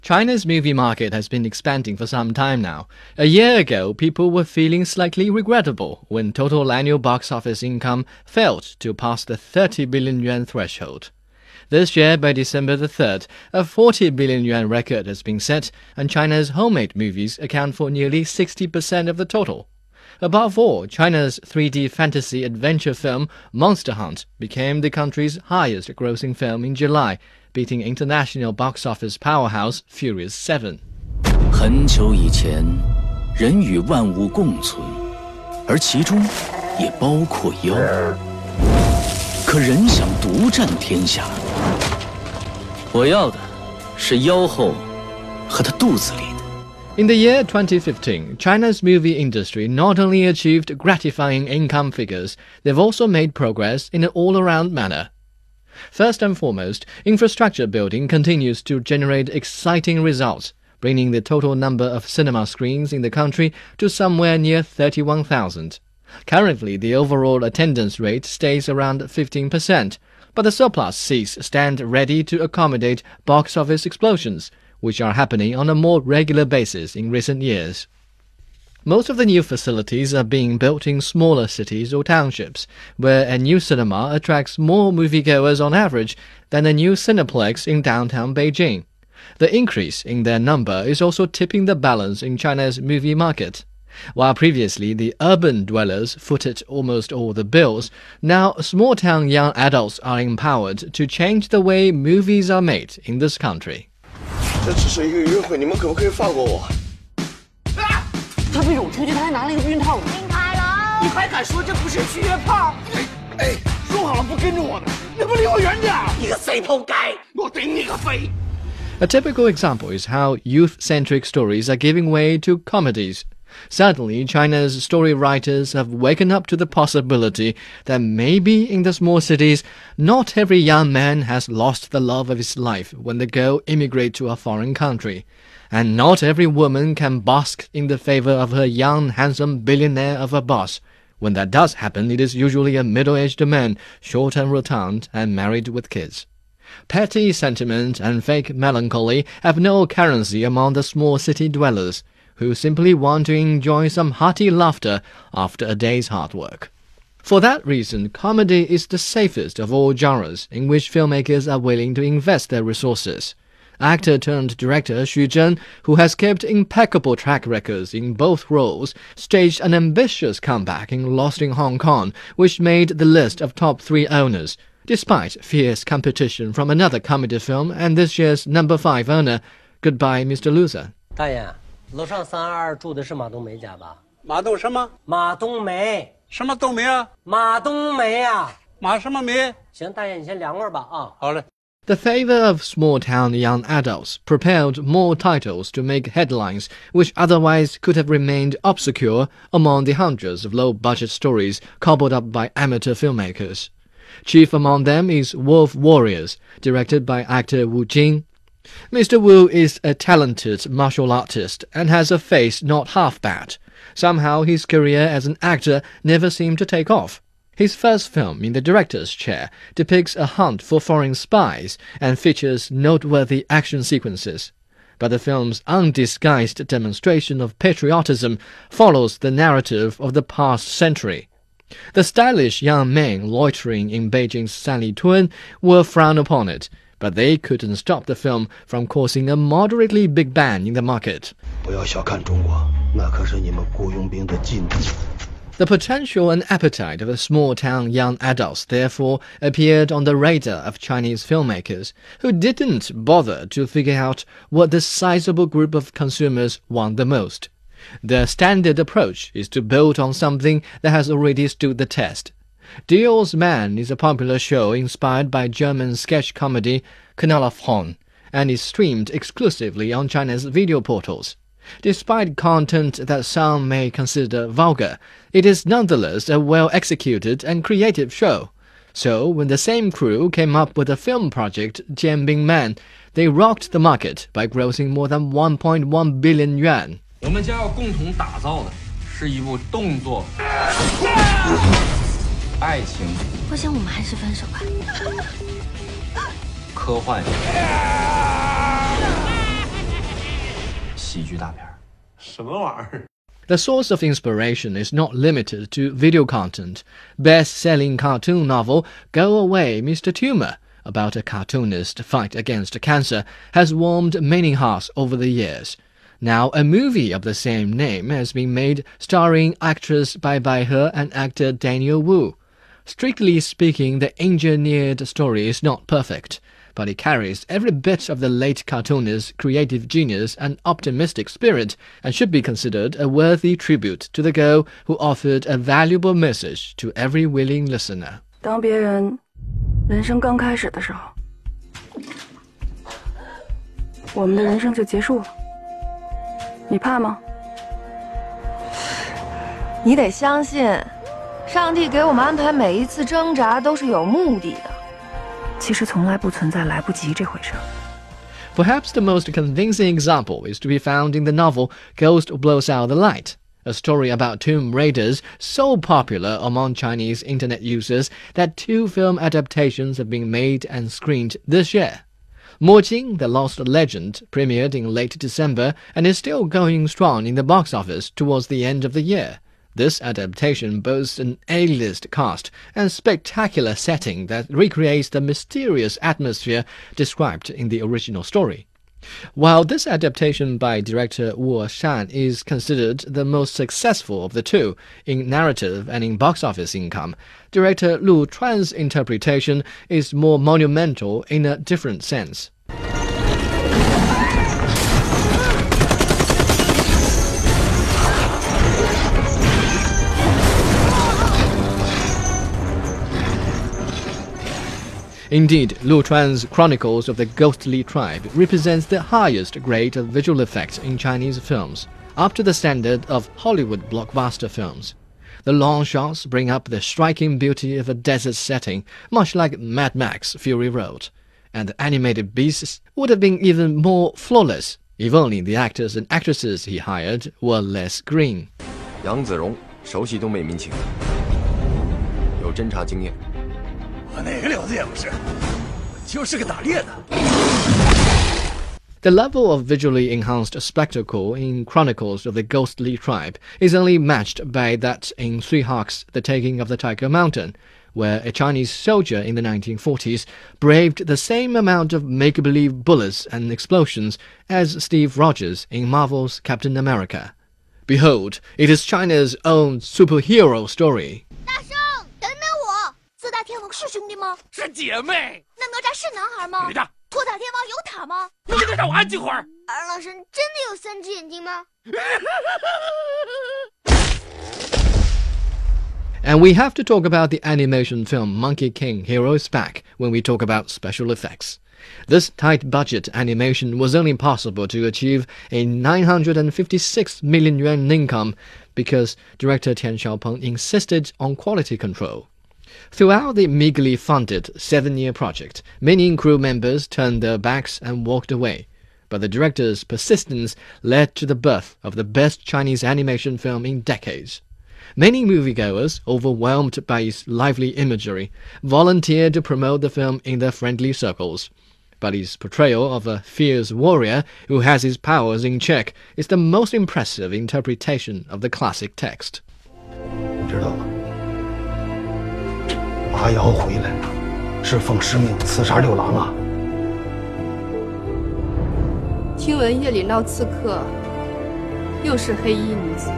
China's movie market has been expanding for some time now. A year ago, people were feeling slightly regrettable when total annual box office income failed to pass the 30 billion yuan threshold. This year, by December the 3rd, a 40 billion yuan record has been set, and China's homemade movies account for nearly 60% of the total. Above all, China's 3D fantasy adventure film Monster Hunt became the country's highest-grossing film in July, beating international box office powerhouse Furious 7. 很久以前，人与万物共存，而其中也包括妖。可人想独占天下，我要的是妖后和她肚子里的。 In the year 2015, China's movie industry not only achieved gratifying income figures, they've also made progress in an all-around manner. First and foremost, infrastructure building continues to generate exciting results, bringing the total number of cinema screens in the country to somewhere near 31,000. Currently, the overall attendance rate stays around 15%, but the surplus seats stand ready to accommodate box office explosions, which are happening on a more regular basis in recent years. Most of the new facilities are being built in smaller cities or townships, where a new cinema attracts more moviegoers on average than a new Cineplex in downtown Beijing. The increase in their number is also tipping the balance in China's movie market. While previously the urban dwellers footed almost all the bills, now small-town young adults are empowered to change the way movies are made in this country. 这只是一个约会，你们可不可以放过我？ 他被我出去，他还拿了一个避孕套。 林凯龙， 你还敢说这不是去约炮？哎，说好了不跟着我的，你不离我远点！你个死仆街，我顶你个肺！ A typical example is how youth-centric stories are giving way to comedies. Suddenly, China's story writers have waken up to the possibility that maybe in the small cities, not every young man has lost the love of his life when they go immigrate to a foreign country. And not every woman can bask in the favor of her young, handsome billionaire of a boss. When that does happen, it is usually a middle-aged man, short and rotund, and married with kids. Petty sentiment and fake melancholy have no currency among the small city dwellers, who simply want to enjoy some hearty laughter after a day's hard work. For that reason, comedy is the safest of all genres in which filmmakers are willing to invest their resources. Actor-turned-director Xu Zhen, who has kept impeccable track records in both roles, staged an ambitious comeback in Lost in Hong Kong, which made the list of top 3 owners, despite fierce competition from another comedy film and this year's number 5 owner, Goodbye, Mr. Loser. 大爷，楼上322住的是马冬梅家吧？ 马冬什么？ 马冬梅。 什么冬梅啊？ 马冬梅啊。 马什么梅？ 行，大爷你先凉快吧啊。 好嘞。 The favor of small-town young adults propelled more titles to make headlines which otherwise could have remained obscure among the hundreds of low-budget stories cobbled up by amateur filmmakers. Chief among them is Wolf Warriors, directed by actor Wu Jing. Mr. Wu is a talented martial artist and has a face not half bad. Somehow his career as an actor never seemed to take off. His first film in the director's chair depicts a hunt for foreign spies and features noteworthy action sequences. But the film's undisguised demonstration of patriotism follows the narrative of the past century. The stylish young men loitering in Beijing's Sanlitun were frowned upon it, but they couldn't stop the film from causing a moderately big bang in the market. 不要小看中国，那可是你们雇佣兵的禁地。 The potential and appetite of small-town young adults therefore appeared on the radar of Chinese filmmakers, who didn't bother to figure out what this sizable group of consumers want the most. Their standard approach is to build on something that has already stood the test. Dior's Man is a popular show inspired by German sketch comedy Knallerhorn, and is streamed exclusively on China's video portals. Despite content that some may consider vulgar, it is nonetheless a well-executed and creative show. So, when the same crew came up with a film project, Jianbing Man, they rocked the market by grossing more than 1.1 billion yuan. 我们将要共同打造的是一部动作、爱情、 我想我们还是分手吧。 科幻。 喜剧大片。什么玩意儿？ The source of inspiration is not limited to video content. Best-selling cartoon novel Go Away, Mr. Tumor, about a cartoonist's fight against cancer, has warmed many hearts over the years. Now, a movie of the same name has been made starring actress Bai Baihe and actor Daniel Wu. Strictly speaking, the engineered story is not perfect, but it carries every bit of the late cartoonist's creative genius and optimistic spirit, and should be considered a worthy tribute to the girl who offered a valuable message to every willing listener. 当别人人生刚开始的时候，我们的人生就结束了。你怕吗？ 你得相信，上帝给我们安排每一次挣扎都是有目的的。 其实从来不存在来不及这回事。 Perhaps the most convincing example is to be found in the novel Ghost Blows Out the Light, a story about tomb raiders so popular among Chinese internet users that 2 film adaptations have been made and screened this year. Mo Jing, The Lost Legend, premiered in late December and is still going strong in the box office towards the end of the year. This adaptation boasts an A-list cast and spectacular setting that recreates the mysterious atmosphere described in the original story. While this adaptation by director Wu Shan is considered the most successful of the 2 in narrative and in box office income, director Lu Chuan's interpretation is more monumental in a different sense. Indeed, Lu Chuan's Chronicles of the Ghostly Tribe represents the highest grade of visual effects in Chinese films, up to the standard of Hollywood blockbuster films. The long shots bring up the striking beauty of a desert setting, much like Mad Max Fury Road, and the animated beasts would have been even more flawless if only the actors and actresses he hired were less green. 杨子荣熟悉东北民情，有侦察经验。 我哪个了子也不是，我就是个打猎的。 The level of visually enhanced spectacle in Chronicles of the Ghostly Tribe is only matched by that in Three Hawks, The Taking of the Tiger Mountain, where a Chinese soldier in the 1940s braved the same amount of make-believe bullets and explosions as Steve Rogers in Marvel's Captain America. Behold, it is China's own superhero story. 四大天王是兄弟吗？ 是姐妹。 那哪吒是男孩吗？ 女的。 托塔天王有塔吗？ 你给他让我安静会儿。 二郎神真的有3只眼睛吗？ And we have to talk about the animation film Monkey King Heroes Back when we talk about special effects. This tight-budget animation was only possible to achieve a 956 million yuan income because director Tian Xiaopeng insisted on quality control. Throughout the meagerly funded 7-year project, many crew members turned their backs and walked away. But the director's persistence led to the birth of the best Chinese animation film in decades. Many moviegoers, overwhelmed by its lively imagery, volunteered to promote the film in their friendly circles. But his portrayal of a fierce warrior who has his powers in check is the most impressive interpretation of the classic text. 知道吗？马瑶回来了，是奉师命刺杀六郎啊！ 听闻夜里闹刺客，又是黑衣女子。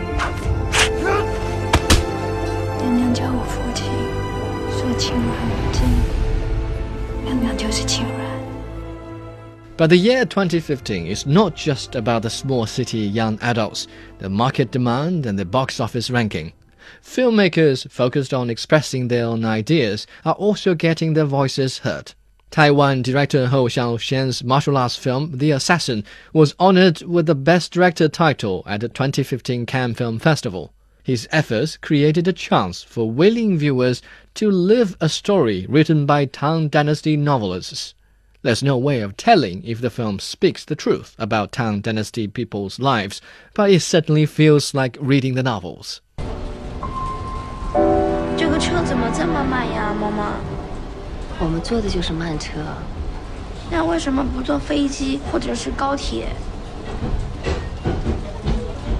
娘娘叫我父亲，说亲软不敬，娘娘就是亲软。 But the year 2015 is not just about the small city young adults, the market demand and the box office ranking. Filmmakers focused on expressing their own ideas are also getting their voices heard. Taiwan director Hou Xiaoxian's martial arts film The Assassin was honored with the Best Director title at the 2015 Cannes Film Festival. His efforts created a chance for willing viewers to live a story written by Tang Dynasty novelists. There's no way of telling if the film speaks the truth about Tang Dynasty people's lives, but it certainly feels like reading the novels. 这个车怎么这么慢呀，妈妈？ 我们坐的就是慢车。 那为什么不坐飞机或者是高铁？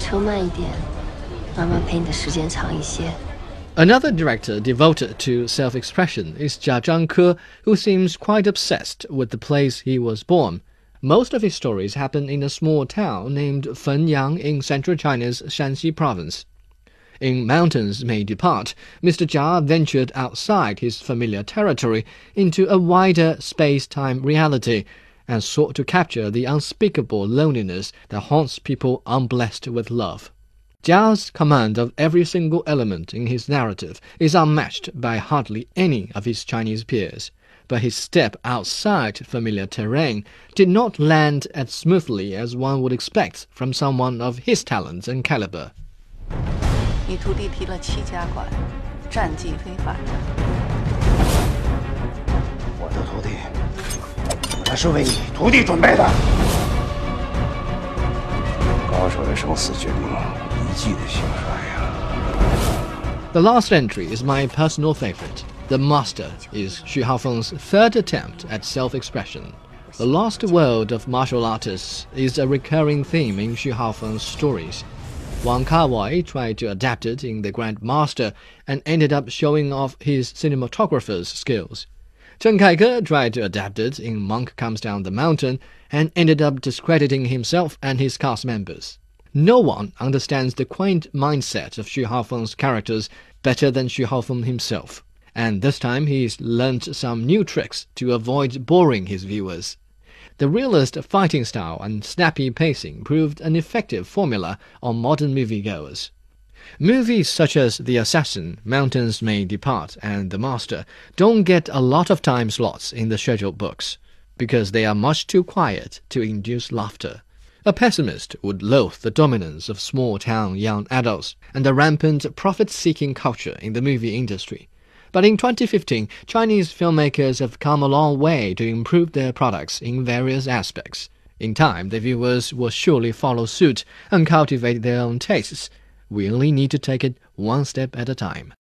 车慢一点，妈妈陪你的时间长一些。 Another director devoted to self-expression is Jia Zhangke, who seems quite obsessed with the place he was born. Most of his stories happen in a small town named Fenyang in central China's Shanxi province. In Mountains May Depart, Mr. Jia ventured outside his familiar territory into a wider space-time reality and sought to capture the unspeakable loneliness that haunts people unblessed with love. Jia's command of every single element in his narrative is unmatched by hardly any of his Chinese peers, but his step outside familiar terrain did not land as smoothly as one would expect from someone of his talents and caliber. 你徒弟提了7家馆，战绩非凡。 我的徒弟，那是为你徒弟准备的。高手的生死决定一骑的兴衰呀。 The last entry is my personal favorite. The Master is Xu Haofeng's third attempt at self-expression. The lost world of martial artists is a recurring theme in Xu Haofeng's stories. Wang Kawai tried to adapt it in The Grand Master and ended up showing off his cinematographer's skills. Chen Kaike tried to adapt it in Monk Comes Down the Mountain and ended up discrediting himself and his cast members. No one understands the quaint mindset of Xu Haofeng's characters better than Xu Haofeng himself, and this time he's learned some new tricks to avoid boring his viewers. The realist fighting style and snappy pacing proved an effective formula on modern moviegoers. Movies such as The Assassin, Mountains May Depart, and The Master don't get a lot of time slots in the scheduled books, because they are much too quiet to induce laughter. A pessimist would loathe the dominance of small-town young adults and the rampant profit-seeking culture in the movie industry. But in 2015, Chinese filmmakers have come a long way to improve their products in various aspects. In time, the viewers will surely follow suit and cultivate their own tastes. We only need to take it one step at a time.